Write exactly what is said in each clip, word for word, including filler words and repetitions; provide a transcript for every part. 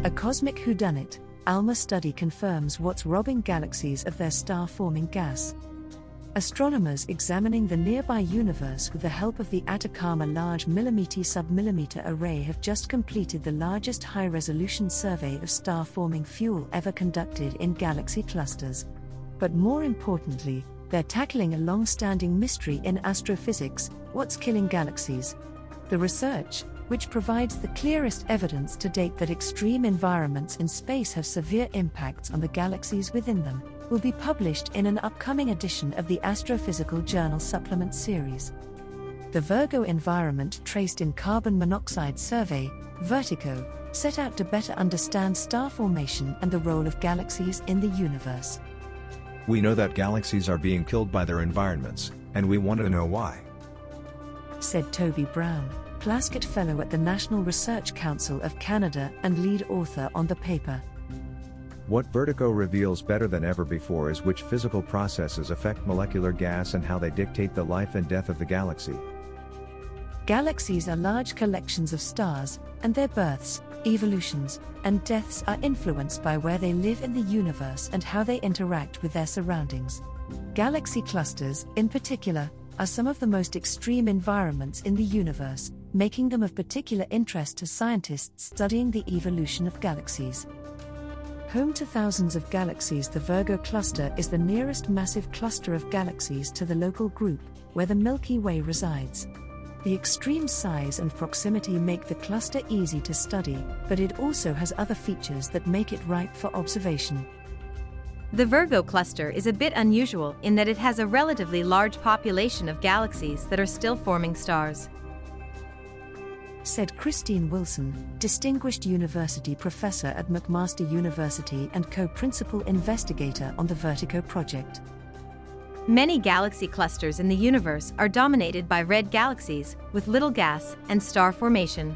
A cosmic whodunit, ALMA study confirms what's robbing galaxies of their star-forming gas. Astronomers examining the nearby universe with the help of the Atacama Large Millimeter Submillimeter Array have just completed the largest high-resolution survey of star-forming fuel ever conducted in galaxy clusters. But more importantly, they're tackling a long-standing mystery in astrophysics: what's killing galaxies? The research, which provides the clearest evidence to date that extreme environments in space have severe impacts on the galaxies within them, will be published in an upcoming edition of the Astrophysical Journal Supplement series. The Virgo Environment Traced in Carbon Monoxide Survey, VERTICO, set out to better understand star formation and the role of galaxies in the universe. We know that galaxies are being killed by their environments, and we want to know why, said Toby Brown, Plaskett Fellow at the National Research Council of Canada and lead author on the paper. What Vertigo reveals better than ever before is which physical processes affect molecular gas and how they dictate the life and death of the galaxy. Galaxies are large collections of stars, and their births, evolutions, and deaths are influenced by where they live in the universe and how they interact with their surroundings. Galaxy clusters, in particular, are some of the most extreme environments in the universe, making them of particular interest to scientists studying the evolution of galaxies. Home to thousands of galaxies, the Virgo cluster is the nearest massive cluster of galaxies to the local group, where the Milky Way resides. The extreme size and proximity make the cluster easy to study, but it also has other features that make it ripe for observation. The Virgo cluster is a bit unusual in that it has a relatively large population of galaxies that are still forming stars, said Christine Wilson, Distinguished University Professor at McMaster University and co-principal investigator on the Vertigo project. Many galaxy clusters in the universe are dominated by red galaxies, with little gas and star formation.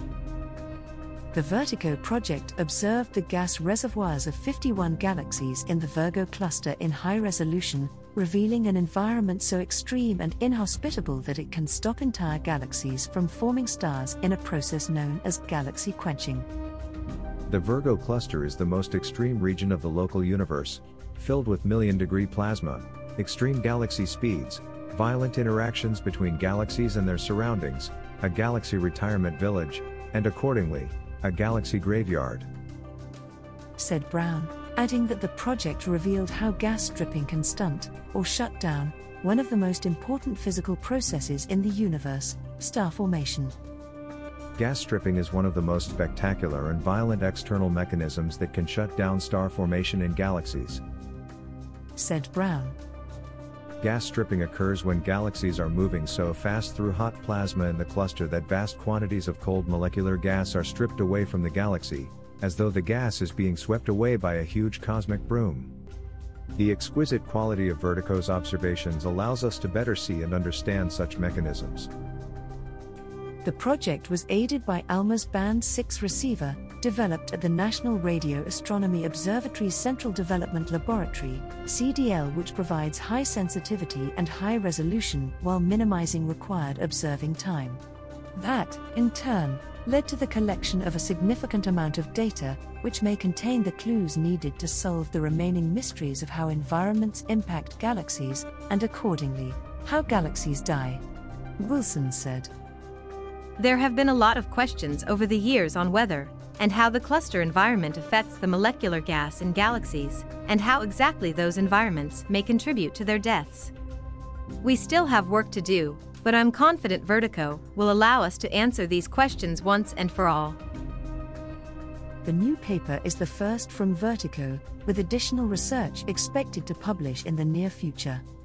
The Vertigo project observed the gas reservoirs of fifty-one galaxies in the Virgo cluster in high resolution, revealing an environment so extreme and inhospitable that it can stop entire galaxies from forming stars in a process known as galaxy quenching. The Virgo cluster is the most extreme region of the local universe, filled with million-degree plasma, extreme galaxy speeds, violent interactions between galaxies and their surroundings, a galaxy retirement village, and accordingly, a galaxy graveyard, said Brown, adding that the project revealed how gas stripping can stunt, or shut down, one of the most important physical processes in the universe, star formation. Gas stripping is one of the most spectacular and violent external mechanisms that can shut down star formation in galaxies, said Brown. Gas stripping occurs when galaxies are moving so fast through hot plasma in the cluster that vast quantities of cold molecular gas are stripped away from the galaxy, as though the gas is being swept away by a huge cosmic broom. The exquisite quality of Vertigo's observations allows us to better see and understand such mechanisms. The project was aided by ALMA's Band six receiver, developed at the National Radio Astronomy Observatory's Central Development Laboratory, C D L, which provides high sensitivity and high resolution while minimizing required observing time. That, in turn, led to the collection of a significant amount of data, which may contain the clues needed to solve the remaining mysteries of how environments impact galaxies, and accordingly, how galaxies die. Wilson said. There have been a lot of questions over the years on whether and how the cluster environment affects the molecular gas in galaxies, and how exactly those environments may contribute to their deaths. We still have work to do, but I'm confident Vertigo will allow us to answer these questions once and for all. The new paper is the first from Vertigo, with additional research expected to publish in the near future.